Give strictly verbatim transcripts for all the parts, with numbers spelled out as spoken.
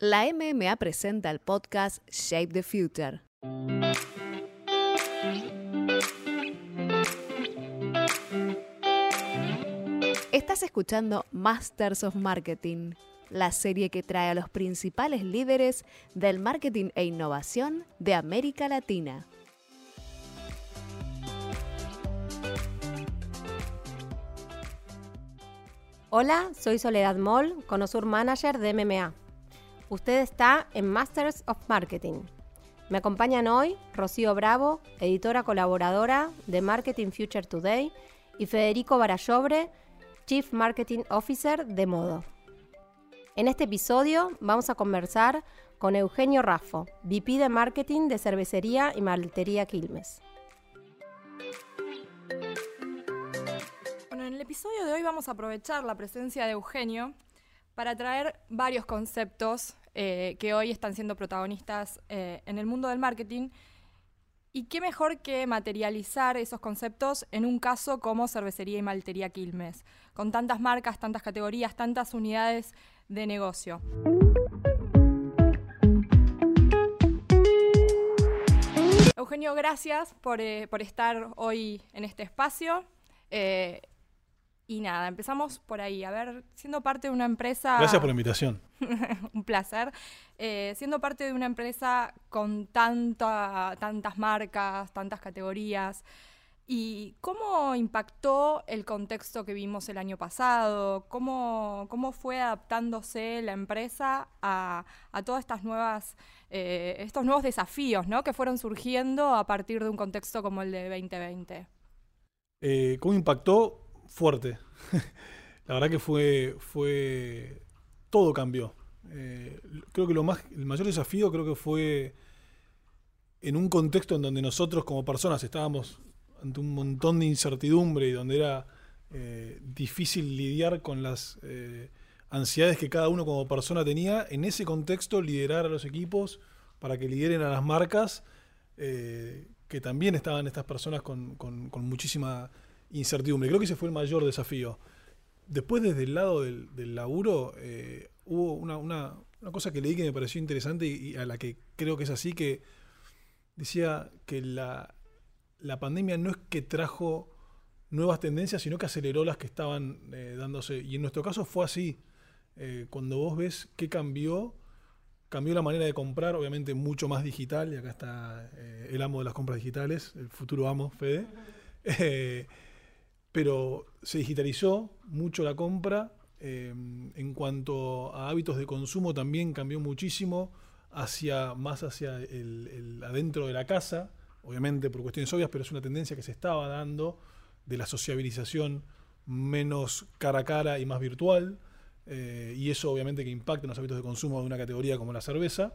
La M M A presenta el podcast Shape the Future. Estás escuchando Masters of Marketing, la serie que trae a los principales líderes del marketing e innovación de América Latina. Hola, soy Soledad Moll, Conosur Manager de M M A. Usted está en Masters of Marketing. Me acompañan hoy Rocío Bravo, editora colaboradora de Marketing Future Today, y Federico Barallobre, Chief Marketing Officer de Modo. En este episodio vamos a conversar con Eugenio Raffo, V P de Marketing de Cervecería y Maltería Quilmes. Bueno, en el episodio de hoy vamos a aprovechar la presencia de Eugenio para traer varios conceptos eh, que hoy están siendo protagonistas eh, en el mundo del marketing. Y qué mejor que materializar esos conceptos en un caso como Cervecería y Maltería Quilmes, con tantas marcas, tantas categorías, tantas unidades de negocio. Eugenio, gracias por, eh, por estar hoy en este espacio. Eh, y nada, empezamos por ahí. A ver, siendo parte de una empresa... Gracias por la invitación. Un placer. Eh, siendo parte de una empresa con tanta, tantas marcas, tantas categorías, ¿y cómo impactó el contexto que vimos el año pasado? ¿Cómo, cómo fue adaptándose la empresa a, a todas estas nuevas, eh, estos nuevos desafíos, ¿no?, que fueron surgiendo a partir de un contexto como el de veinte veinte? Eh, ¿Cómo impactó? Fuerte. La verdad que fue... fue todo cambió. Eh, creo que lo más, el mayor desafío creo que fue en un contexto en donde nosotros como personas estábamos ante un montón de incertidumbre y donde era eh, difícil lidiar con las eh, ansiedades que cada uno como persona tenía. En ese contexto, liderar a los equipos para que lideren a las marcas, eh, que también estaban estas personas con, con, con muchísima incertidumbre. Creo que ese fue el mayor desafío. Después, desde el lado del, del laburo, eh, hubo una, una, una cosa que leí que me pareció interesante y, y a la que creo que es así, que decía que la, la pandemia no es que trajo nuevas tendencias, sino que aceleró las que estaban eh, dándose. Y en nuestro caso fue así. Eh, cuando vos ves qué cambió, cambió la manera de comprar, obviamente mucho más digital, y acá está eh, el amo de las compras digitales, el futuro amo, Fede. Eh, pero se digitalizó mucho la compra. Eh, en cuanto a hábitos de consumo también cambió muchísimo, hacia, más hacia el, el adentro de la casa, obviamente por cuestiones obvias, pero es una tendencia que se estaba dando de la sociabilización menos cara a cara y más virtual, eh, y eso obviamente que impacta en los hábitos de consumo de una categoría como la cerveza,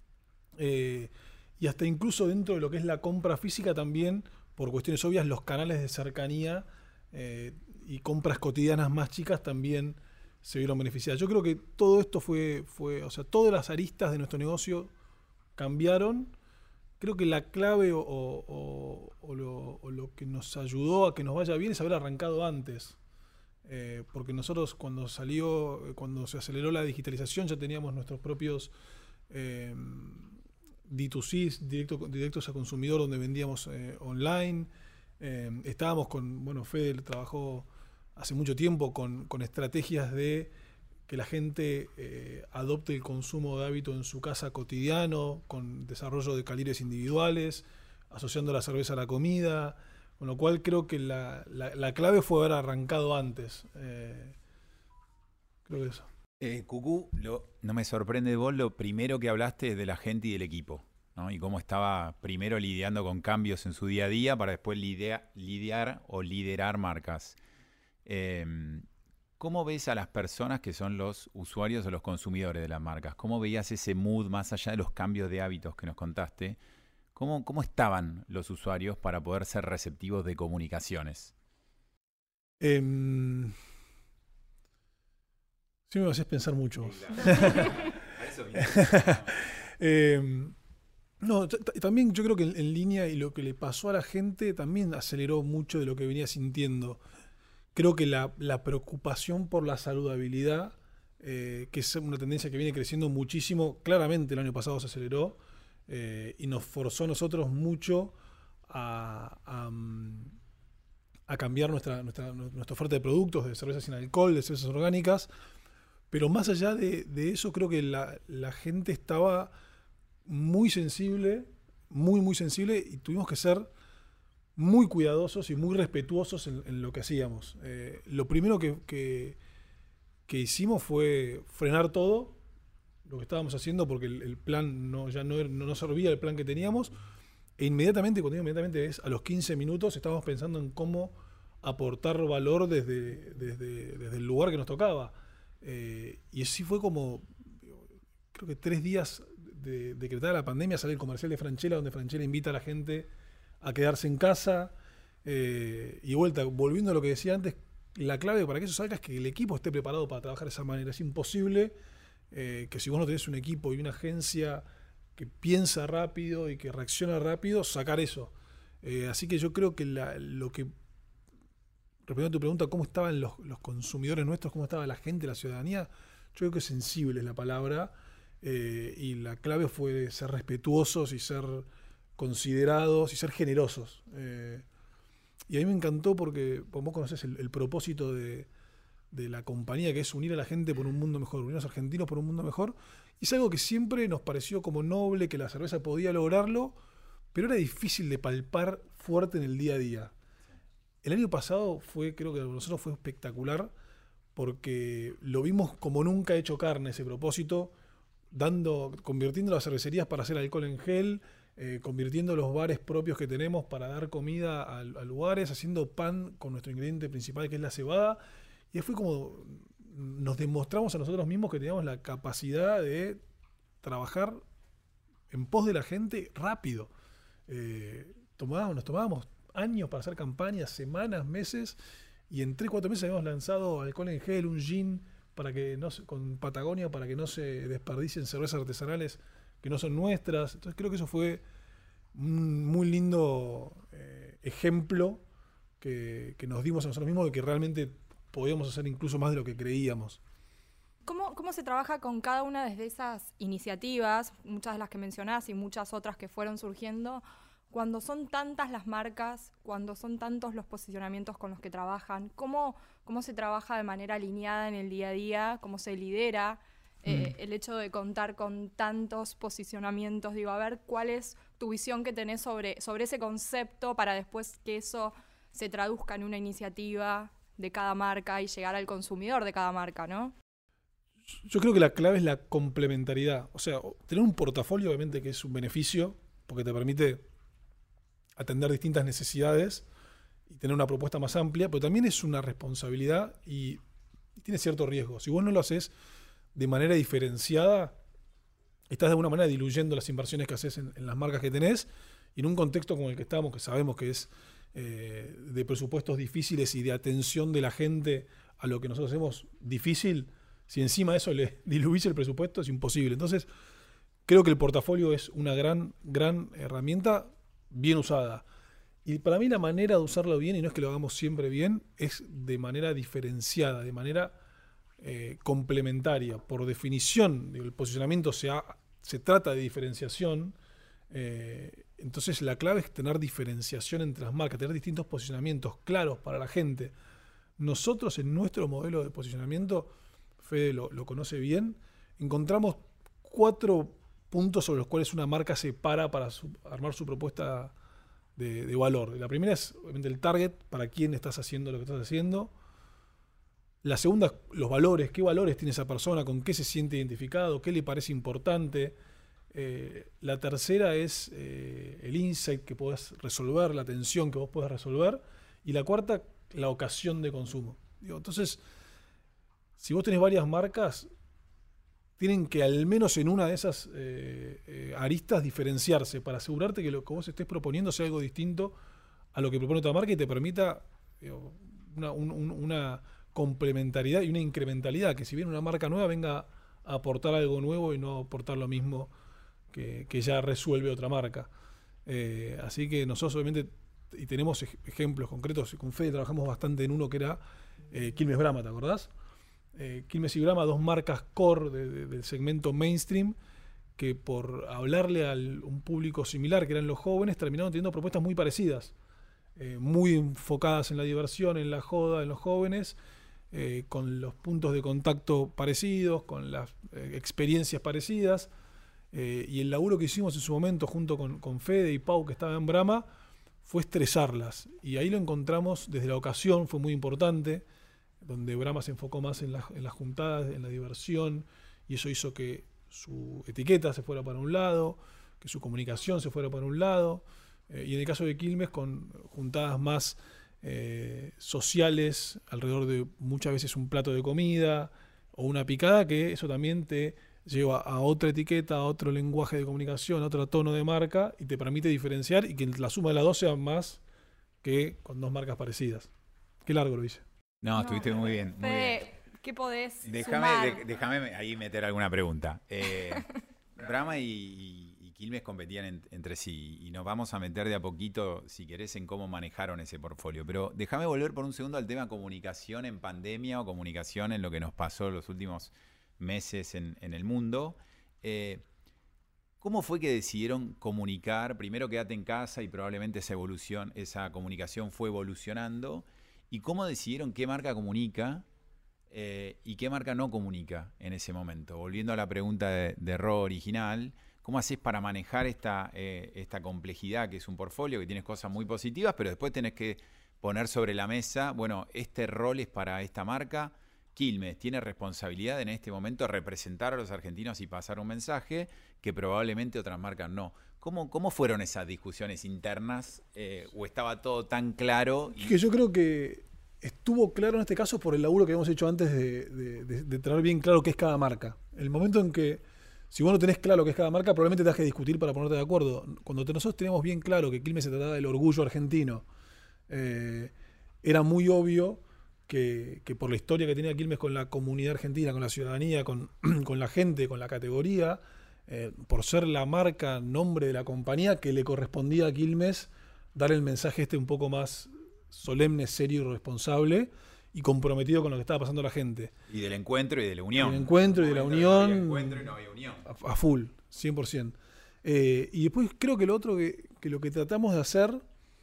eh, y hasta incluso dentro de lo que es la compra física también, por cuestiones obvias, los canales de cercanía eh, y compras cotidianas más chicas también se vieron beneficiadas. Yo creo que todo esto fue, fue, o sea, todas las aristas de nuestro negocio cambiaron. Creo que la clave o, o, o, lo, o lo que nos ayudó a que nos vaya bien es haber arrancado antes. Eh, porque nosotros cuando salió, cuando se aceleró la digitalización, ya teníamos nuestros propios eh, D dos C, directo, directos a consumidor, donde vendíamos eh, online. Eh, estábamos con, bueno, Fede trabajó hace mucho tiempo con, con estrategias de que la gente eh, adopte el consumo de hábito en su casa cotidiano, con desarrollo de calibres individuales, asociando la cerveza a la comida, con lo cual creo que la, la, la clave fue haber arrancado antes. Eh, creo que eso. Eh, Cucú, lo, no me sorprende de vos lo primero que hablaste es de la gente y del equipo, ¿no? Y cómo estaba primero lidiando con cambios en su día a día para después lidiar, lidiar o liderar marcas. Eh, ¿Cómo ves a las personas que son los usuarios o los consumidores de las marcas? ¿Cómo veías ese mood más allá de los cambios de hábitos que nos contaste? ¿Cómo, cómo estaban los usuarios para poder ser receptivos de comunicaciones? Eh, sí me haces pensar mucho. eh, no, t- t- también yo creo que en, en línea y lo que le pasó a la gente también aceleró mucho de lo que venía sintiendo. Creo que la, la preocupación por la saludabilidad eh, que es una tendencia que viene creciendo muchísimo. Claramente el año pasado se aceleró eh, y nos forzó a nosotros mucho a, a, a cambiar nuestra, nuestra, nuestra oferta de productos, de cervezas sin alcohol, de cervezas orgánicas. Pero más allá de, de eso, creo que la, la gente estaba muy sensible, muy, muy sensible, y tuvimos que ser muy cuidadosos y muy respetuosos en, en lo que hacíamos. Eh, lo primero que, que, que hicimos fue frenar todo lo que estábamos haciendo, porque el, el plan no, ya no, no nos servía el plan que teníamos, e inmediatamente, cuando digo inmediatamente es a los quince minutos, estábamos pensando en cómo aportar valor desde, desde, desde el lugar que nos tocaba. Eh, y así fue como, creo que tres días de decretada la pandemia, sale el comercial de Franchella, donde Franchella invita a la gente a quedarse en casa. Eh, y vuelta, volviendo a lo que decía antes, la clave para que eso salga es que el equipo esté preparado para trabajar de esa manera. Es imposible eh, que si vos no tenés un equipo y una agencia que piensa rápido y que reacciona rápido, sacar eso. Eh, así que yo creo que la, lo que... Respondiendo a tu pregunta, ¿cómo estaban los, los consumidores nuestros? ¿Cómo estaba la gente, la ciudadanía? Yo creo que sensible es la palabra. Eh, y la clave fue ser respetuosos y ser considerados y ser generosos. Eh, y a mí me encantó porque vos conocés el, el propósito de, de la compañía, que es unir a la gente por un mundo mejor, unir a los argentinos por un mundo mejor. Y es algo que siempre nos pareció como noble, que la cerveza podía lograrlo, pero era difícil de palpar fuerte en el día a día. El año pasado fue, creo que para nosotros fue espectacular, porque lo vimos como nunca hecho carne ese propósito, dando, convirtiendo las cervecerías para hacer alcohol en gel, eh, convirtiendo los bares propios que tenemos para dar comida a, a lugares, haciendo pan con nuestro ingrediente principal, que es la cebada. Y fue como nos demostramos a nosotros mismos que teníamos la capacidad de trabajar en pos de la gente rápido. Eh, tomábamos, nos tomábamos años para hacer campañas, semanas, meses, y en tres, cuatro meses habíamos lanzado alcohol en gel, un gin para que no se, con Patagonia, para que no se desperdicien cervezas artesanales que no son nuestras. Entonces creo que eso fue un muy lindo eh, ejemplo que, que nos dimos a nosotros mismos de que realmente podíamos hacer incluso más de lo que creíamos. ¿Cómo, ¿Cómo se trabaja con cada una de esas iniciativas, muchas de las que mencionás y muchas otras que fueron surgiendo, cuando son tantas las marcas, cuando son tantos los posicionamientos con los que trabajan? ¿Cómo, cómo se trabaja de manera alineada en el día a día? ¿Cómo se lidera eh, mm. el hecho de contar con tantos posicionamientos? Digo, a ver, ¿cuál es tu visión que tenés sobre, sobre ese concepto para después que eso se traduzca en una iniciativa de cada marca y llegar al consumidor de cada marca, ¿no? Yo creo que la clave es la complementariedad. O sea, tener un portafolio obviamente que es un beneficio porque te permite atender distintas necesidades y tener una propuesta más amplia, pero también es una responsabilidad y, y tiene cierto riesgo. Si vos no lo haces de manera diferenciada, estás de alguna manera diluyendo las inversiones que haces en, en las marcas que tenés, y en un contexto como el que estamos, que sabemos que es eh, de presupuestos difíciles y de atención de la gente a lo que nosotros hacemos difícil, si encima de eso le diluís el presupuesto, es imposible. Entonces, creo que el portafolio es una gran, gran herramienta bien usada. Y para mí la manera de usarlo bien, y no es que lo hagamos siempre bien, es de manera diferenciada, de manera eh, complementaria. Por definición, el posicionamiento se, ha, se trata de diferenciación. Eh, entonces la clave es tener diferenciación entre las marcas, tener distintos posicionamientos claros para la gente. Nosotros en nuestro modelo de posicionamiento, Fede lo, lo conoce bien, encontramos cuatro puntos sobre los cuales una marca se para para su, armar su propuesta de, de valor. La primera es obviamente el target, para quién estás haciendo lo que estás haciendo. La segunda, los valores, qué valores tiene esa persona, con qué se siente identificado, qué le parece importante. Eh, la tercera es eh, el insight que podés resolver, la atención que vos podés resolver. Y la cuarta, la ocasión de consumo. Digo, entonces, si vos tenés varias marcas, tienen que al menos en una de esas eh, eh, aristas diferenciarse para asegurarte que lo que vos estés proponiendo sea algo distinto a lo que propone otra marca y te permita digo, una, un, una complementariedad y una incrementalidad, que si bien una marca nueva venga a aportar algo nuevo y no aportar lo mismo que, que ya resuelve otra marca. Eh, así que nosotros obviamente, y tenemos ej- ejemplos concretos, con Fede trabajamos bastante en uno que era eh, Quilmes Brahma, ¿te acordás? Eh, Quilmes y Brahma, dos marcas core de, de, del segmento mainstream, que por hablarle a un público similar, que eran los jóvenes, terminaron teniendo propuestas muy parecidas, eh, muy enfocadas en la diversión, en la joda, en los jóvenes, eh, con los puntos de contacto parecidos, con las eh, experiencias parecidas, eh, y el laburo que hicimos en su momento junto con, con Fede y Pau, que estaba en Brahma, fue estresarlas, y ahí lo encontramos desde la ocasión, fue muy importante, donde Brahma se enfocó más en, la, en las juntadas, en la diversión, y eso hizo que su etiqueta se fuera para un lado, que su comunicación se fuera para un lado, eh, y en el caso de Quilmes con juntadas más eh, sociales, alrededor de muchas veces un plato de comida o una picada, que eso también te lleva a otra etiqueta, a otro lenguaje de comunicación, a otro tono de marca, y te permite diferenciar y que la suma de las dos sea más que con dos marcas parecidas. Qué largo lo hice. No, estuviste no, muy bien. Muy Fede, bien. ¿qué podés Déjame, sumar? de, déjame ahí meter alguna pregunta. Eh, Brahma y, y, y Quilmes competían en, entre sí y nos vamos a meter de a poquito, si querés, en cómo manejaron ese portfolio. Pero déjame volver por un segundo al tema comunicación en pandemia o comunicación en lo que nos pasó los últimos meses en, en el mundo. Eh, ¿Cómo fue que decidieron comunicar? Primero quédate en casa y probablemente esa evolución, esa comunicación fue evolucionando. ¿Y cómo decidieron qué marca comunica eh, y qué marca no comunica en ese momento? Volviendo a la pregunta de, de Ro original, ¿cómo haces para manejar esta, eh, esta complejidad que es un portfolio, que tienes cosas muy positivas, pero después tenés que poner sobre la mesa, bueno, este rol es para esta marca? Quilmes tiene responsabilidad en este momento de representar a los argentinos y pasar un mensaje que probablemente otras marcas no. ¿Cómo, cómo fueron esas discusiones internas? Eh, ¿O estaba todo tan claro? Y... Que yo creo que estuvo claro en este caso por el laburo que habíamos hecho antes de, de, de, de tener bien claro qué es cada marca. El momento en que, si vos no tenés claro qué es cada marca, probablemente tengas que discutir para ponerte de acuerdo. Cuando nosotros teníamos bien claro que Quilmes se trataba del orgullo argentino, eh, era muy obvio que, que por la historia que tenía Quilmes con la comunidad argentina, con la ciudadanía, con, con la gente, con la categoría, Eh, por ser la marca, nombre de la compañía, que le correspondía a Quilmes dar el mensaje este un poco más solemne, serio y responsable y comprometido con lo que estaba pasando a la gente. Y del encuentro y de la unión. Del encuentro y de la unión. No había encuentro y no había unión. A, a full, cien por ciento. Eh, y después creo que lo otro que, que lo que tratamos de hacer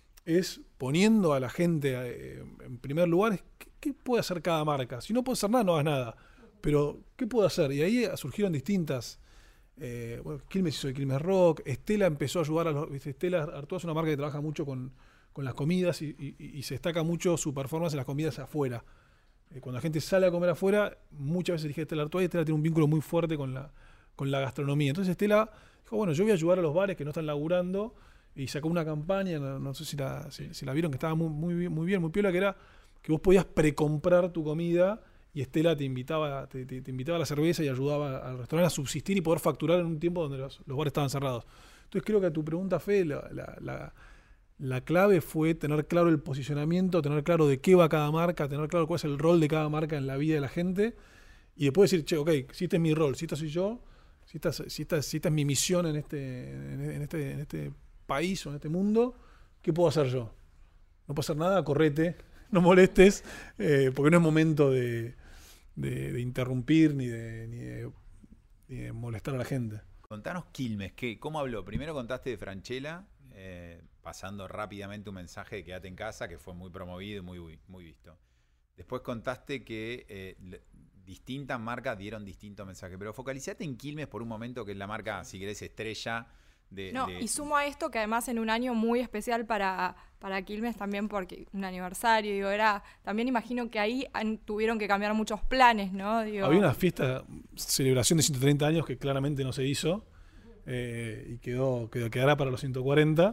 es poniendo a la gente eh, en primer lugar, es ¿qué, qué puede hacer cada marca? Si no puede hacer nada, no hagas nada. Pero, ¿qué puede hacer? Y ahí surgieron distintas... Eh, bueno, Quilmes hizo el Quilmes Rock, Estela empezó a ayudar a los... Estela Artois es una marca que trabaja mucho con, con las comidas y, y, y se destaca mucho su performance en las comidas afuera. Eh, cuando la gente sale a comer afuera, muchas veces dije Estela Artois y Estela tiene un vínculo muy fuerte con la, con la gastronomía. Entonces Estela dijo, bueno, yo voy a ayudar a los bares que no están laburando, y sacó una campaña, no, no sé si la, si, si la vieron, que estaba muy, muy, muy bien, muy piola, que era que vos podías precomprar tu comida y Estela te invitaba, te, te, te invitaba a la cerveza y ayudaba al restaurante a subsistir y poder facturar en un tiempo donde los, los bares estaban cerrados. Entonces creo que a tu pregunta, Fe, la, la, la, la clave fue tener claro el posicionamiento, tener claro de qué va cada marca, tener claro cuál es el rol de cada marca en la vida de la gente, y después decir, che, ok, si este es mi rol, si esta soy yo, si esta, si esta, si esta es mi misión en este, en, este, en este país o en este mundo, ¿qué puedo hacer yo? No puedo hacer nada, correte, no molestes, eh, porque no es momento de, de, de interrumpir ni de, ni, de, ni de molestar a la gente. Contanos Quilmes, ¿qué, ¿cómo habló? Primero contaste de Franchella, eh, pasando rápidamente un mensaje de quédate en casa, que fue muy promovido y muy, muy visto. Después contaste que eh, le, distintas marcas dieron distintos mensajes, pero focalizate en Quilmes por un momento, que es la marca, si querés, estrella. De, no, de... y sumo a esto que además en un año muy especial para, para Quilmes también, porque un aniversario, digo, era, también imagino que ahí han, tuvieron que cambiar muchos planes, ¿no? Digo, había una fiesta, celebración de ciento treinta años que claramente no se hizo, eh, y quedó, quedó, quedará para los ciento cuarenta.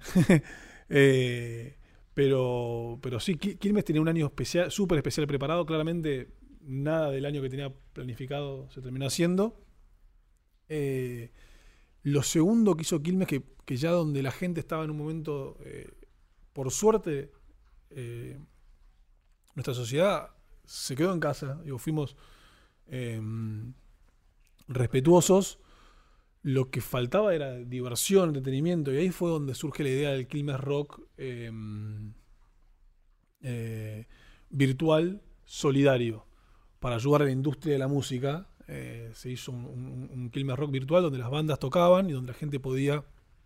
eh, pero, pero sí, Quilmes tenía un año especial, súper especial preparado, claramente nada del año que tenía planificado se terminó haciendo. Eh, Lo segundo que hizo Quilmes, que, que ya donde la gente estaba en un momento, eh, por suerte, eh, nuestra sociedad se quedó en casa, digo, fuimos eh, respetuosos, lo que faltaba era diversión, entretenimiento, y ahí fue donde surge la idea del Quilmes Rock eh, eh, virtual solidario, para ayudar a la industria de la música. Eh, se hizo un, un, un Quilmes Rock virtual donde las bandas tocaban y donde la gente podía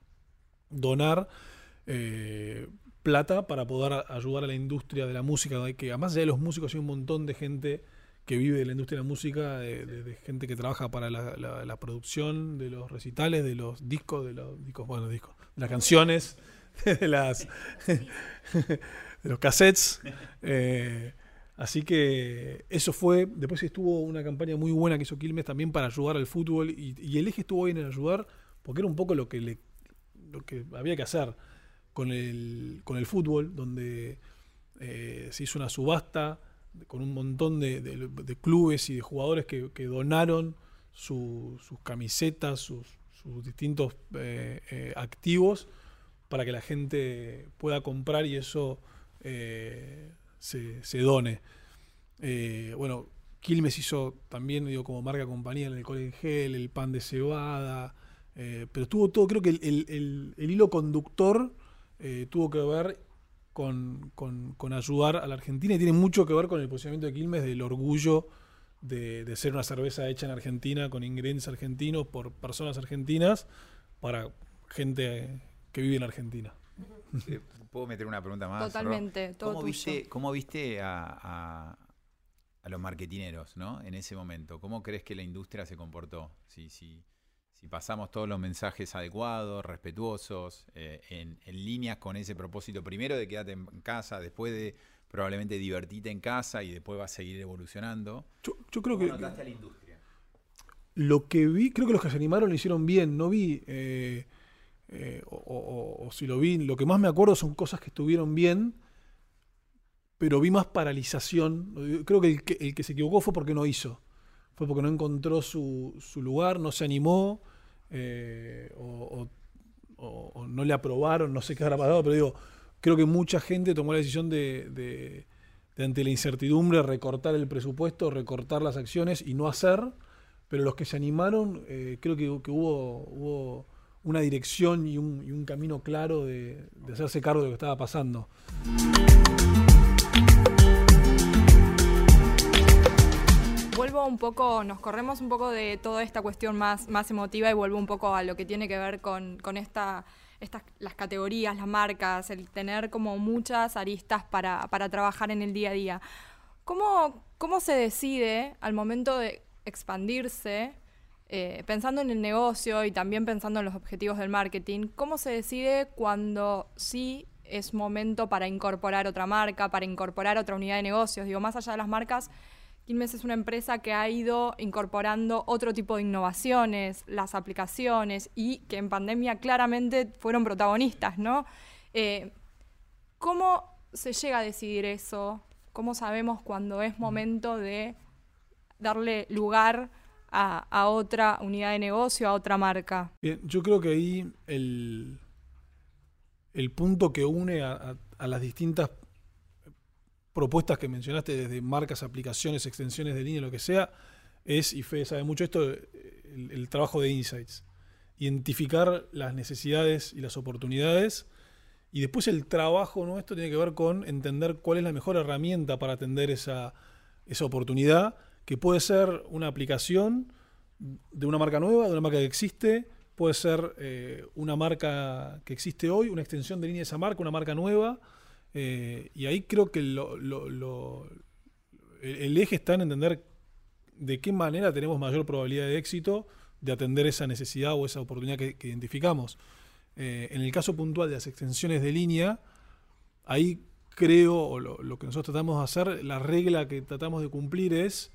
donar eh, plata para poder ayudar a la industria de la música, que además de los músicos hay un montón de gente que vive de la industria de la música, de, de, de gente que trabaja para la, la, la producción de los recitales, de los discos, de los discos, bueno, discos, de las canciones, de las de los cassettes. Eh, así que eso fue. Después estuvo una campaña muy buena que hizo Quilmes también para ayudar al fútbol, y, y el eje estuvo bien en ayudar, porque era un poco lo que le, lo que había que hacer con el, con el fútbol, donde eh, se hizo una subasta con un montón de, de, de clubes y de jugadores que, que donaron su, sus camisetas, sus, sus distintos eh, eh, activos para que la gente pueda comprar y eso eh, se, se done. Eh, bueno, Quilmes hizo también, digo, como marca compañía en el alcohol en gel, el pan de cebada, eh, pero tuvo todo, creo que el, el, el, el hilo conductor eh, tuvo que ver Con, con, con ayudar a la Argentina, y tiene mucho que ver con el posicionamiento de Quilmes, del orgullo de, de ser una cerveza hecha en Argentina con ingredientes argentinos por personas argentinas para gente que vive en Argentina. Sí, ¿puedo meter una pregunta más? Totalmente, todo ¿Cómo tuyo. viste, cómo viste a, a, a los marketineros, ¿no? En ese momento? ¿Cómo crees que la industria se comportó? Si, si, si pasamos todos los mensajes adecuados, respetuosos, eh, en, en líneas con ese propósito, primero de quedarte en casa, después de probablemente divertirte en casa y después va a seguir evolucionando. Yo, yo creo ¿Cómo que notaste a la industria? Lo que vi, creo que los que se animaron lo hicieron bien. No vi, eh, eh, o, o, o si lo vi, lo que más me acuerdo son cosas que estuvieron bien, pero vi más paralización. Creo que el que, el que se equivocó fue porque no hizo. Fue porque no encontró su, su lugar, no se animó, eh, o, o, o, o no le aprobaron, no sé qué habrá pasado, pero digo, creo que mucha gente tomó la decisión de, de, de ante la incertidumbre, recortar el presupuesto, recortar las acciones y no hacer, pero los que se animaron, eh, creo que, que hubo, hubo una dirección y un, y un camino claro de, de hacerse cargo de lo que estaba pasando. Vuelvo un poco, nos corremos un poco de toda esta cuestión más, más emotiva y vuelvo un poco a lo que tiene que ver con, con esta, estas, las categorías, las marcas, el tener como muchas aristas para, para trabajar en el día a día. ¿Cómo, cómo se decide al momento de expandirse, eh, pensando en el negocio y también pensando en los objetivos del marketing, cómo se decide cuando sí es momento para incorporar otra marca, para incorporar otra unidad de negocios? Digo, más allá de las marcas, Quilmes es una empresa que ha ido incorporando otro tipo de innovaciones, las aplicaciones, y que en pandemia claramente fueron protagonistas, ¿no? Eh, ¿Cómo se llega a decidir eso? ¿Cómo sabemos cuándo es momento de darle lugar a, a otra unidad de negocio, a otra marca? Bien, yo creo que ahí el, el punto que une a, a, a las distintas propuestas que mencionaste, desde marcas, aplicaciones, extensiones de línea, lo que sea, es, y Fede sabe mucho esto, el, el trabajo de insights. Identificar las necesidades y las oportunidades, y después el trabajo nuestro tiene que ver con entender cuál es la mejor herramienta para atender esa, esa oportunidad, que puede ser una aplicación de una marca nueva, de una marca que existe, puede ser eh, una marca que existe hoy, una extensión de línea de esa marca, una marca nueva. Eh, y ahí creo que lo, lo, lo, el, el eje está en entender de qué manera tenemos mayor probabilidad de éxito de atender esa necesidad o esa oportunidad que, que identificamos. Eh, en el caso puntual de las extensiones de línea, ahí creo, o lo, lo que nosotros tratamos de hacer, la regla que tratamos de cumplir es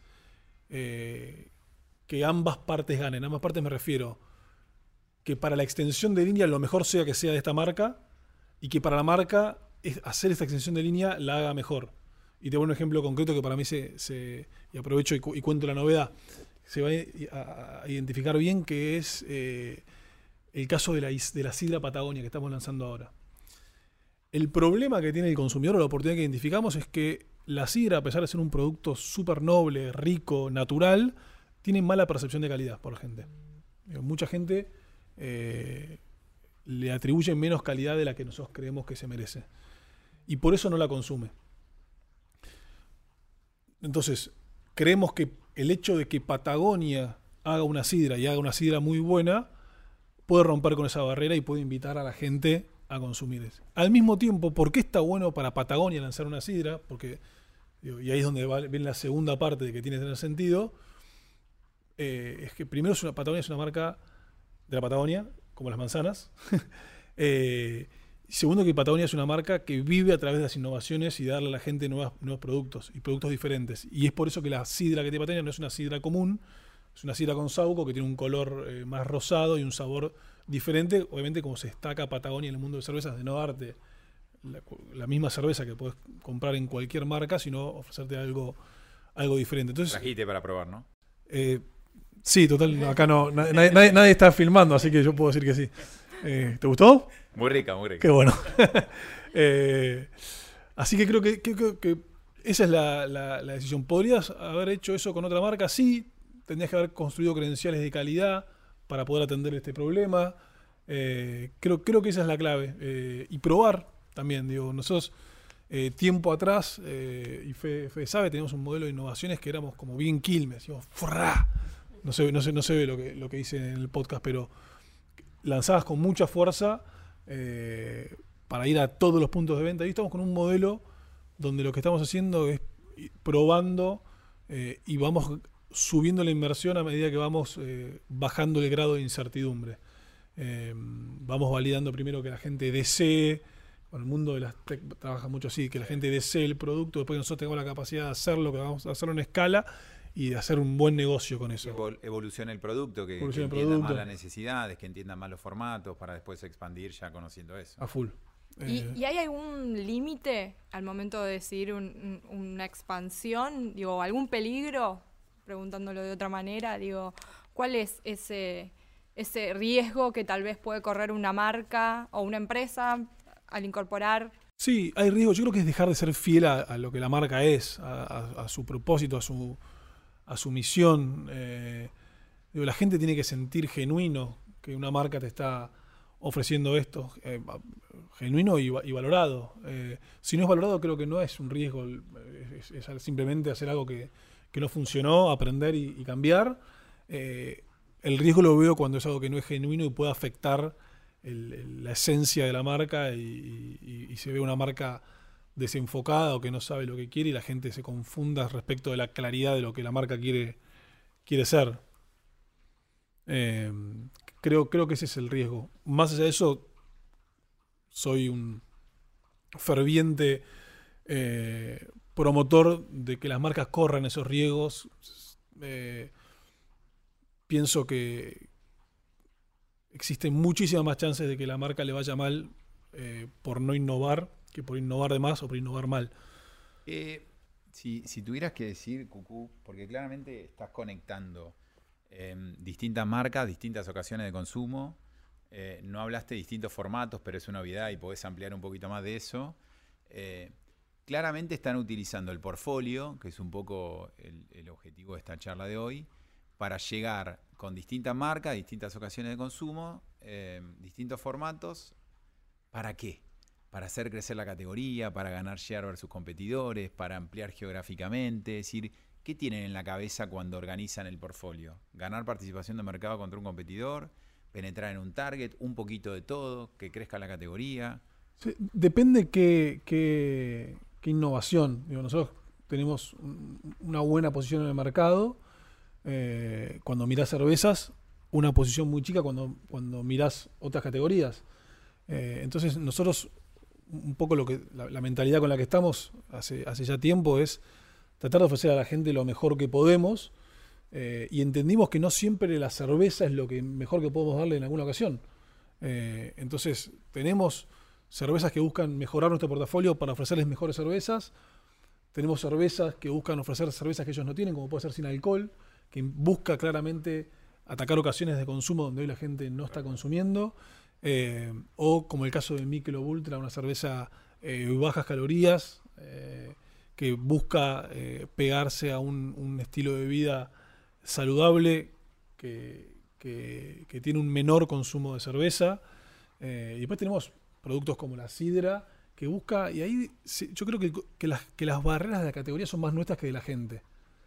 eh, que ambas partes ganen. Ambas partes me refiero que para la extensión de línea lo mejor sea que sea de esta marca, y que para la marca es hacer esta extensión de línea la haga mejor. Y te doy un ejemplo concreto que para mí se, se y aprovecho y, cu y cuento la novedad, se va a, a identificar bien, que es eh, el caso de la, de la sidra Patagonia que estamos lanzando ahora. El problema que tiene el consumidor, o la oportunidad que identificamos, es que la sidra, a pesar de ser un producto súper noble, rico, natural, tiene mala percepción de calidad por la gente. Mucha gente eh, le atribuye menos calidad de la que nosotros creemos que se merece, y por eso no la consume. Entonces, creemos que el hecho de que Patagonia haga una sidra y haga una sidra muy buena puede romper con esa barrera y puede invitar a la gente a consumir eso. Al mismo tiempo, ¿por qué está bueno para Patagonia lanzar una sidra? Porque, digo, y ahí es donde va, viene la segunda parte de que tiene que tener sentido, eh, es que primero es una, Patagonia es una marca de la Patagonia, como las manzanas. eh, Segundo, que Patagonia es una marca que vive a través de las innovaciones y darle a la gente nuevas, nuevos productos y productos diferentes. Y es por eso que la sidra que tiene Patagonia no es una sidra común, es una sidra con saúco que tiene un color eh, más rosado y un sabor diferente. Obviamente, como se destaca Patagonia en el mundo de cervezas, de no darte la, la misma cerveza que puedes comprar en cualquier marca, sino ofrecerte algo, algo diferente. Entonces, trajiste para probar, ¿no? Eh, sí, total, acá no, nadie, nadie, nadie está filmando, así que yo puedo decir que sí. Eh, ¿Te gustó? Muy rica, muy rica. Qué bueno. eh, así que creo que, que, que, que esa es la, la, la decisión. ¿Podrías haber hecho eso con otra marca? Sí. Tendrías que haber construido credenciales de calidad para poder atender este problema. Eh, creo, creo que esa es la clave. Eh, y probar también. Digo, nosotros eh, tiempo atrás, eh, y Fede, Fede sabe, teníamos un modelo de innovaciones que éramos como bien Quilmes. Decíamos, ¡frá! No se, no, se, no se ve lo que, lo que hice en el podcast, pero lanzadas con mucha fuerza eh, para ir a todos los puntos de venta. Y estamos con un modelo donde lo que estamos haciendo es probando eh, y vamos subiendo la inversión a medida que vamos eh, bajando el grado de incertidumbre. Eh, vamos validando primero que la gente desee, con el mundo de las tech trabaja mucho así, que la gente desee el producto, después que nosotros tengamos la capacidad de hacerlo, que vamos a hacerlo en escala y de hacer un buen negocio con eso. Evoluciona el producto, que, que Evoluciona el entiendan producto. más las necesidades, que entiendan más los formatos, para después expandir ya conociendo eso. A full. ¿Y, Eh, ¿Y hay algún límite al momento de decidir un- un- una expansión? Digo, ¿algún peligro? Preguntándolo de otra manera, digo, ¿cuál es ese, ese riesgo que tal vez puede correr una marca o una empresa al incorporar? Sí, hay riesgo. Yo creo que es dejar de ser fiel a, a lo que la marca es, a, a- a su propósito, a su, a su misión. Eh, digo, la gente tiene que sentir genuino que una marca te está ofreciendo esto, eh, genuino y, va- y valorado. Eh, si no es valorado, creo que no es un riesgo, es, es- es simplemente hacer algo que, que no funcionó, aprender y, y cambiar. Eh, el riesgo lo veo cuando es algo que no es genuino y puede afectar el- el- la esencia de la marca y, y- y se ve una marca desenfocada o que no sabe lo que quiere y la gente se confunda respecto de la claridad de lo que la marca quiere, quiere ser. Eh, creo, creo que ese es el riesgo. Más allá de eso, soy un ferviente eh, promotor de que las marcas corran esos riesgos. Eh, pienso que existen muchísimas más chances de que la marca le vaya mal eh, por no innovar que por innovar de más o por innovar mal. Eh, si, si tuvieras que decir, Cucú, porque claramente estás conectando eh, distintas marcas, distintas ocasiones de consumo, eh, no hablaste de distintos formatos, pero es una obviedad y podés ampliar un poquito más de eso. Eh, claramente están utilizando el portfolio, que es un poco el, el objetivo de esta charla de hoy, para llegar con distintas marcas, distintas ocasiones de consumo, eh, distintos formatos. ¿Para qué? Para hacer crecer la categoría, para ganar share versus competidores, para ampliar geográficamente. Es decir, ¿qué tienen en la cabeza cuando organizan el portfolio? ¿Ganar participación de mercado contra un competidor? ¿Penetrar en un target? ¿Un poquito de todo? ¿Que crezca la categoría? Sí, depende qué, qué, qué innovación. Digo, nosotros tenemos un- una buena posición en el mercado. Eh, cuando mirás cervezas, una posición muy chica cuando, cuando mirás otras categorías. Eh, entonces nosotros, un poco lo que la, la mentalidad con la que estamos hace, hace ya tiempo es tratar de ofrecer a la gente lo mejor que podemos, eh, y entendimos que no siempre la cerveza es lo que mejor que podemos darle en alguna ocasión. Eh, entonces tenemos cervezas que buscan mejorar nuestro portafolio para ofrecerles mejores cervezas. Tenemos cervezas que buscan ofrecer cervezas que ellos no tienen, como puede ser sin alcohol, que busca claramente atacar ocasiones de consumo donde hoy la gente no está consumiendo. Eh, o como el caso de Michelob Ultra, una cerveza eh, bajas calorías, eh, que busca eh, pegarse a un, un estilo de vida saludable que, que, que tiene un menor consumo de cerveza. Eh, y después tenemos productos como la sidra, que busca, y ahí sí, yo creo que, que, las, que las barreras de la categoría son más nuestras que de la gente.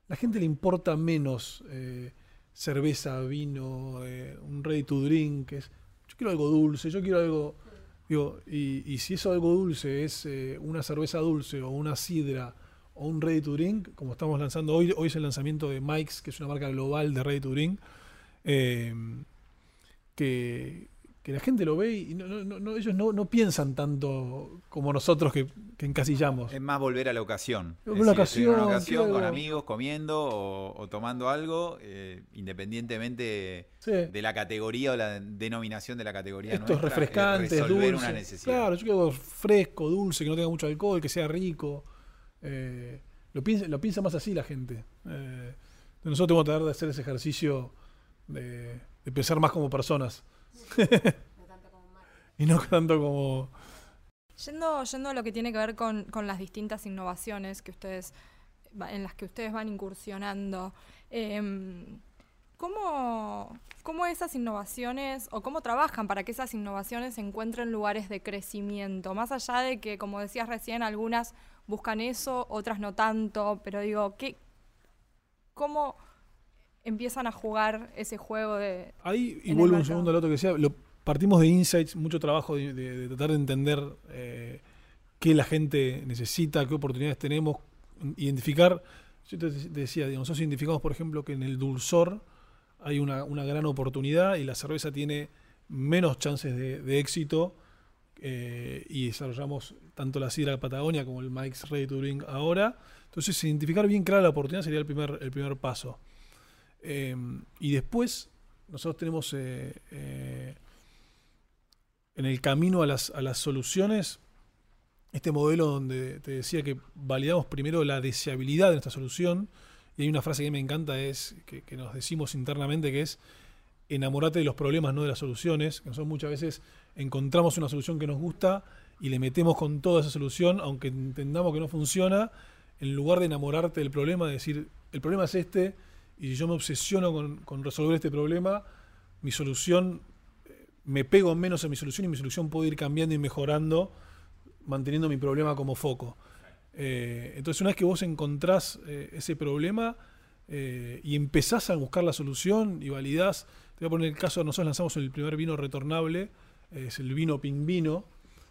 la gente le importa menos eh, cerveza, vino, eh, un ready to drink. Es, yo quiero algo dulce, yo quiero algo... Digo, y, y si eso algo dulce es eh, una cerveza dulce o una sidra o un ready to drink, como estamos lanzando hoy, hoy es el lanzamiento de Mike's, que es una marca global de ready to drink, eh, que, que la gente lo ve y no, no, no, ellos no, no piensan tanto como nosotros que, que encasillamos. Es más volver a la ocasión. Una Es decir, ocasión, estoy en una ocasión claro. con amigos, comiendo o, o tomando algo, eh, independientemente Sí. de la categoría o la denominación de la categoría Esto es nuestra, refrescante, es resolver dulce. una necesidad. Claro, yo quiero algo fresco, dulce, que no tenga mucho alcohol, que sea rico. Eh, lo, piensa, lo piensa más así la gente. Eh, nosotros tenemos que tratar de hacer ese ejercicio de, de pensar más como personas. Y no tanto como... Yendo, yendo a lo que tiene que ver con, con las distintas innovaciones que ustedes en las que ustedes van incursionando, eh, ¿cómo, ¿cómo esas innovaciones o cómo trabajan para que esas innovaciones encuentren lugares de crecimiento? Más allá de que, como decías recién, algunas buscan eso, otras no tanto, pero digo, ¿qué, ¿cómo empiezan a jugar ese juego de... Ahí, y en el vuelvo un mercado? segundo al otro que decía, lo, partimos de insights, mucho trabajo de, de- de tratar de entender eh, qué la gente necesita, qué oportunidades tenemos, identificar. Yo te te decía, digamos, nosotros identificamos, por ejemplo, que en el dulzor hay una, una gran oportunidad y la cerveza tiene menos chances de, de éxito, eh, y desarrollamos tanto la sidra de Patagonia como el Mike's Ready to Drink ahora. Entonces, identificar bien clara la oportunidad sería el primer, el primer paso. Eh, y después, nosotros tenemos eh, eh, en el camino a las, a las soluciones este modelo donde te decía que validamos primero la deseabilidad de nuestra solución. Y hay una frase que me encanta, es que, que nos decimos internamente, que es: enamorate de los problemas, no de las soluciones. Que nosotros muchas veces encontramos una solución que nos gusta y le metemos con toda esa solución, aunque entendamos que no funciona, en lugar de enamorarte del problema, de decir, el problema es este, y si yo me obsesiono con, con resolver este problema, mi solución, eh, me pego menos en mi solución y mi solución puede ir cambiando y mejorando, manteniendo mi problema como foco. Eh, entonces, una vez que vos encontrás eh, ese problema eh, y empezás a buscar la solución y validás, te voy a poner el caso, nosotros lanzamos el primer vino retornable, eh, es el vino Pink Vino,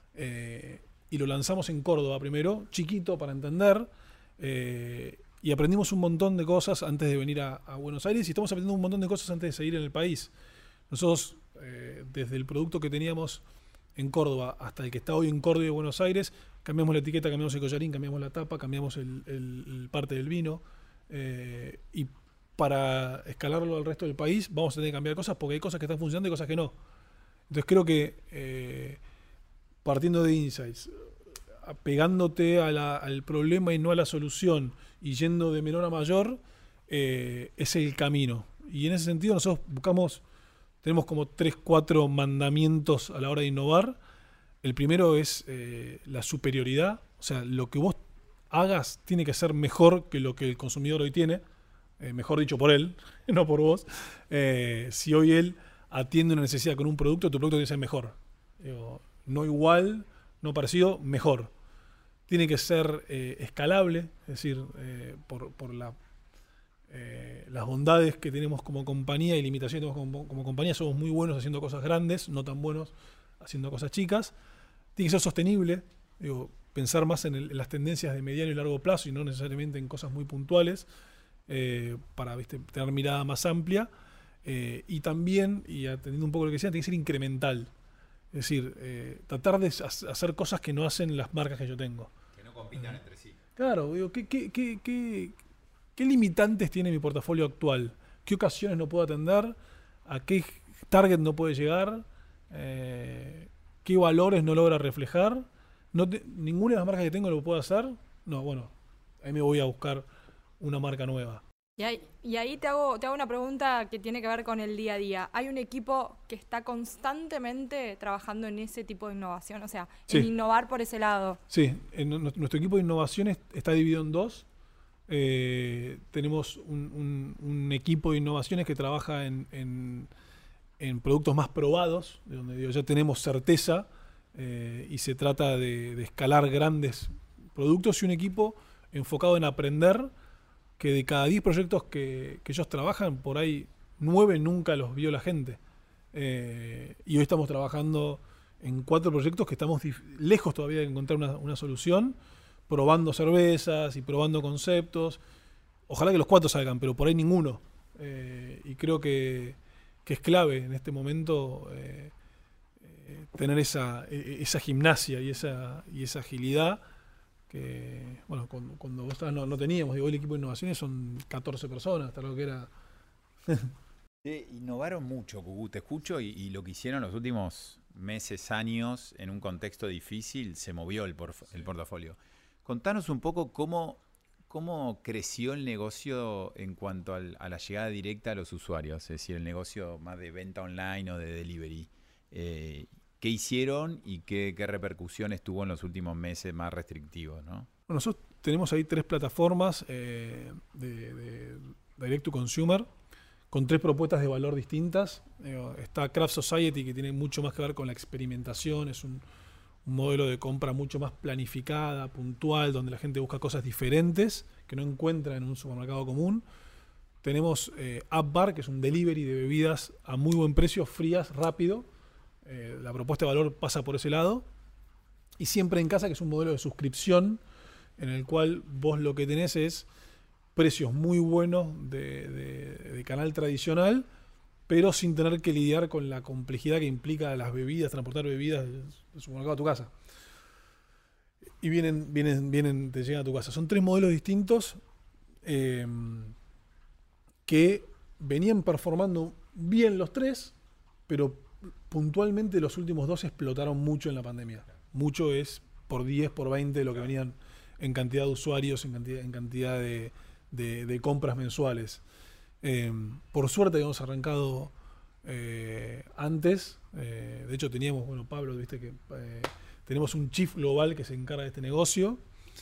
eh, y lo lanzamos en Córdoba primero, chiquito para entender, eh, y aprendimos un montón de cosas antes de venir a, a Buenos Aires, y estamos aprendiendo un montón de cosas antes de seguir en el país. Nosotros, eh, desde el producto que teníamos en Córdoba hasta el que está hoy en Córdoba y Buenos Aires, cambiamos la etiqueta, cambiamos el collarín, cambiamos la tapa, cambiamos el, el- el parte del vino, eh, y para escalarlo al resto del país vamos a tener que cambiar cosas porque hay cosas que están funcionando y cosas que no. Entonces creo que eh, partiendo de insights, pegándote a la- al problema y no a la solución, y yendo de menor a mayor, eh, es el camino. Y en ese sentido nosotros buscamos, tenemos como tres, cuatro mandamientos a la hora de innovar. El primero es eh, la superioridad, o sea, lo que vos hagas tiene que ser mejor que lo que el consumidor hoy tiene, eh, mejor dicho por él, no por vos. Eh, si hoy él atiende una necesidad con un producto, tu producto tiene que ser mejor. Digo, no igual, no parecido, mejor. Tiene que ser eh, escalable, es decir, eh, por, por la, eh, las bondades que tenemos como compañía y limitaciones que tenemos como, como compañía. Somos muy buenos haciendo cosas grandes, no tan buenos haciendo cosas chicas. Tiene que ser sostenible, digo, pensar más en, el, en las tendencias de mediano y largo plazo y no necesariamente en cosas muy puntuales, eh, para, ¿viste?, tener mirada más amplia. Eh, y también, y atendiendo un poco lo que decía, tiene que ser incremental. Es decir, eh, tratar de hacer cosas que no hacen las marcas que yo tengo. Que no compitan entre sí. Claro, digo, ¿qué, qué, qué, qué, qué limitantes tiene mi portafolio actual? ¿Qué ocasiones no puedo atender? ¿A qué target no puede llegar? Eh, ¿Qué valores no logra reflejar? No te- ¿Ninguna de las marcas que tengo lo puedo hacer? No, bueno, ahí me voy a buscar una marca nueva. Y ahí, y ahí te hago, te hago una pregunta que tiene que ver con el día a día. ¿Hay un equipo que está constantemente trabajando en ese tipo de innovación? O sea, Sí. en innovar por ese lado. Sí, en nu- nuestro equipo de innovación es- está dividido en dos. Eh, tenemos un, un- un equipo de innovaciones que trabaja en, en- en productos más probados, de donde digo, ya tenemos certeza, eh, y se trata de, de escalar grandes productos, y un equipo enfocado en aprender, que de cada diez proyectos que, que ellos trabajan, por ahí nueve nunca los vio la gente. Eh, y hoy estamos trabajando en cuatro proyectos que estamos lejos todavía de encontrar una, una solución, probando cervezas y probando conceptos. Ojalá que los cuatro salgan, pero por ahí ninguno. Eh, y creo que, que es clave en este momento eh, eh, tener esa, esa gimnasia y esa, y esa agilidad que, bueno, cuando, cuando vos estabas no, no teníamos. Digo, el equipo de innovaciones son catorce personas, hasta lo que era... Sí, innovaron mucho, Cucú, te escucho, y, y lo que hicieron los últimos meses, años, en un contexto difícil, se movió el, porf- el portafolio. Contanos un poco cómo, cómo creció el negocio en cuanto al, a la llegada directa a los usuarios, es decir, el negocio más de venta online o de delivery. Eh, ¿Qué hicieron y qué, qué repercusiones tuvo en los últimos meses más restrictivos, ¿no? Bueno, nosotros tenemos ahí tres plataformas eh, de, de Direct to Consumer, con tres propuestas de valor distintas. Eh, está Craft Society, que tiene mucho más que ver con la experimentación, es un, un modelo de compra mucho más planificada, puntual, donde la gente busca cosas diferentes que no encuentra en un supermercado común. Tenemos eh, App Bar, que es un delivery de bebidas a muy buen precio, frías, rápido. Eh, la propuesta de valor pasa por ese lado. Y Siempre en Casa, que es un modelo de suscripción en el cual vos lo que tenés es precios muy buenos de, de, de canal tradicional, pero sin tener que lidiar con la complejidad que implica las bebidas, transportar bebidas del supermercado a tu casa. Y vienen, vienen, vienen, te llegan a tu casa. Son tres modelos distintos eh, que venían performando bien los tres, pero puntualmente los últimos dos explotaron mucho en la pandemia. Mucho es por diez, por veinte de lo que venían en cantidad de usuarios, en cantidad, en cantidad de, de, de compras mensuales. Eh, por suerte habíamos arrancado eh, antes. Eh, de hecho teníamos, bueno, Pablo, viste que eh, tenemos un chief global que se encarga de este negocio.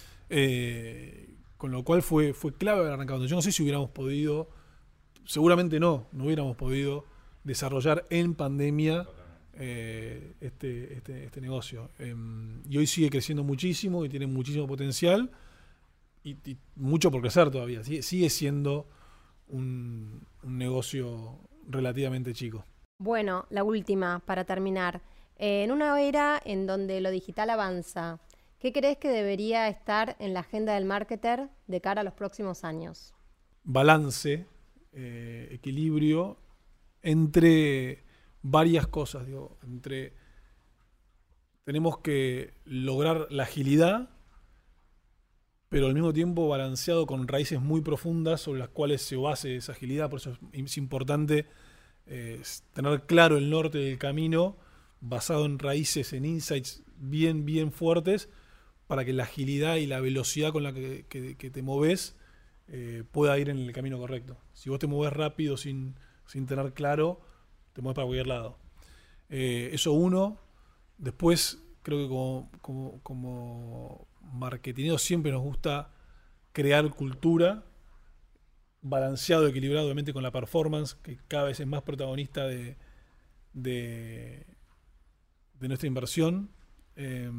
Eh, con lo cual fue, fue clave haber arrancado. Yo no sé si hubiéramos podido, seguramente no, no hubiéramos podido desarrollar en pandemia eh, este, este, este negocio. Eh, y hoy sigue creciendo muchísimo y tiene muchísimo potencial y, y mucho por crecer todavía. Sigue, sigue siendo un, un negocio relativamente chico. Bueno, la última, para terminar. Eh, en una era en donde lo digital avanza, ¿qué crees que debería estar en la agenda del marketer de cara a los próximos años? Balance, eh, equilibrio entre varias cosas. Digo, entre tenemos que lograr la agilidad, pero al mismo tiempo balanceado con raíces muy profundas sobre las cuales se base esa agilidad. Por eso es, es importante eh, tener claro el norte del camino, basado en raíces, en insights bien, bien fuertes, para que la agilidad y la velocidad con la que, que, que te moves eh, pueda ir en el camino correcto. Si vos te moves rápido sin, sin tener claro, te mueves para cualquier lado. Eh, eso uno. Después, creo que como, como, como marketineros siempre nos gusta crear cultura, balanceado, equilibrado, obviamente con la performance, que cada vez es más protagonista de, de, de nuestra inversión. Eh,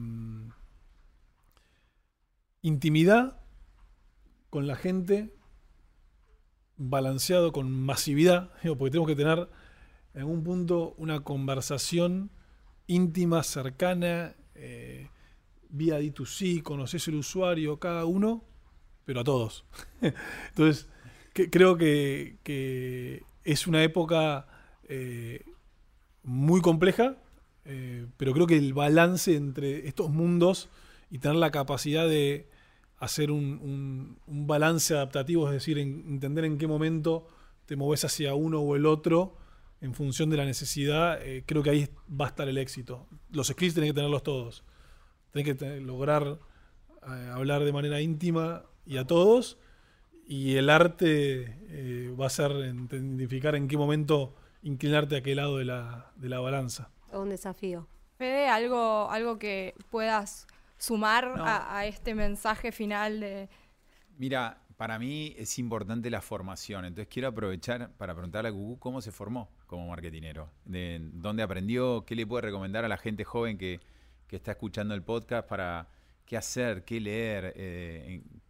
intimidad con la gente, balanceado con masividad, porque tenemos que tener en algún punto una conversación íntima, cercana, eh, vía D dos C, conoces el usuario, cada uno, pero a todos. Entonces, que, creo que, que es una época eh, muy compleja, eh, pero creo que el balance entre estos mundos y tener la capacidad de hacer un, un, un balance adaptativo, es decir, en, entender en qué momento te moves hacia uno o el otro en función de la necesidad, eh, creo que ahí va a estar el éxito. Los skills tenés que tenerlos todos. Tenés que tener, lograr eh, hablar de manera íntima y a todos, y el arte eh, va a ser identificar en qué momento inclinarte a aquel lado de la, de la balanza. Un desafío. Fede, algo, algo que puedas sumar No. a, a este mensaje final de... Mira, para mí es importante la formación, entonces quiero aprovechar para preguntarle a Cucú cómo se formó como marketinero, de dónde aprendió, qué le puede recomendar a la gente joven que, que está escuchando el podcast para qué hacer, qué leer, eh,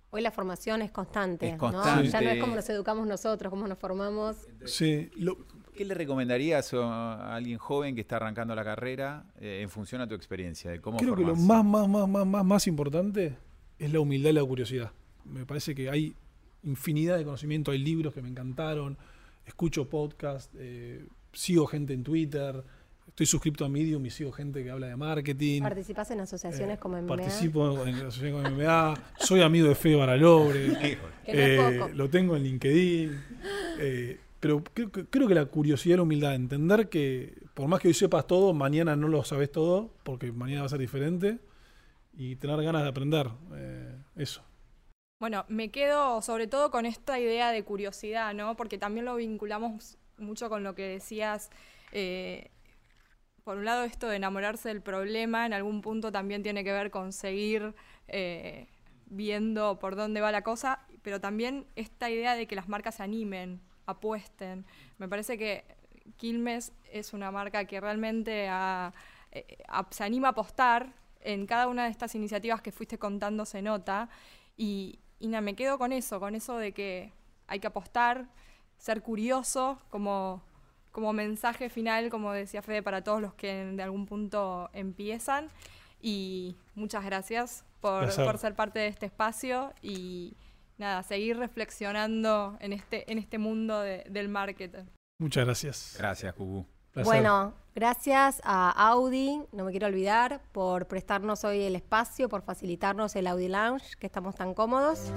Hoy la formación es constante, Es ¿no? constante. Ya no es como nos educamos nosotros, cómo nos formamos. Sí, lo- ¿Qué le recomendarías a alguien joven que está arrancando la carrera eh, en función a tu experiencia? De cómo creo que lo formarse? más, más, más, más, más, más importante es la humildad y la curiosidad. Me parece que hay infinidad de conocimiento, hay libros que me encantaron, escucho podcasts, eh, sigo gente en Twitter, estoy suscrito a Medium y sigo gente que habla de marketing. ¿Participás en asociaciones Eh, como M M A? Participo en la asociación con M M A, soy amigo de Fede Baralobre, Que no es eh, poco. lo tengo en LinkedIn, eh, pero creo, que- creo que la curiosidad y la humildad, entender que por más que hoy sepas todo, mañana no lo sabes todo, porque mañana va a ser diferente, y tener ganas de aprender, eh, eso. Bueno, me quedo sobre todo con esta idea de curiosidad, ¿no? Porque también lo vinculamos mucho con lo que decías. eh, por un lado, esto de enamorarse del problema, en algún punto también tiene que ver con seguir eh, viendo por dónde va la cosa, pero también esta idea de que las marcas se animen, apuesten. Me parece que Quilmes es una marca que realmente ha- eh, a- se anima a apostar. En cada una de estas iniciativas que fuiste contando se nota. Y, y nada, me quedo con eso, con eso de que hay que apostar, ser curioso como, como mensaje final, como decía Fede, para todos los que de algún punto empiezan. Y muchas gracias por, Placer. por ser parte de este espacio y nada, seguir reflexionando en este, en este mundo de- del marketing. Muchas gracias. Gracias, Cucú. Placer. Bueno, gracias a Audi, no me quiero olvidar, por prestarnos hoy el espacio, por facilitarnos el Audi Lounge, que estamos tan cómodos.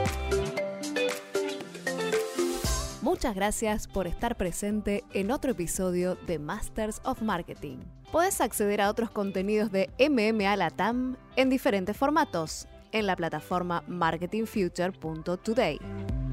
Muchas gracias por estar presente en otro episodio de Masters of Marketing. Puedes acceder a otros contenidos de M M A Latam en diferentes formatos en la plataforma marketing future punto today.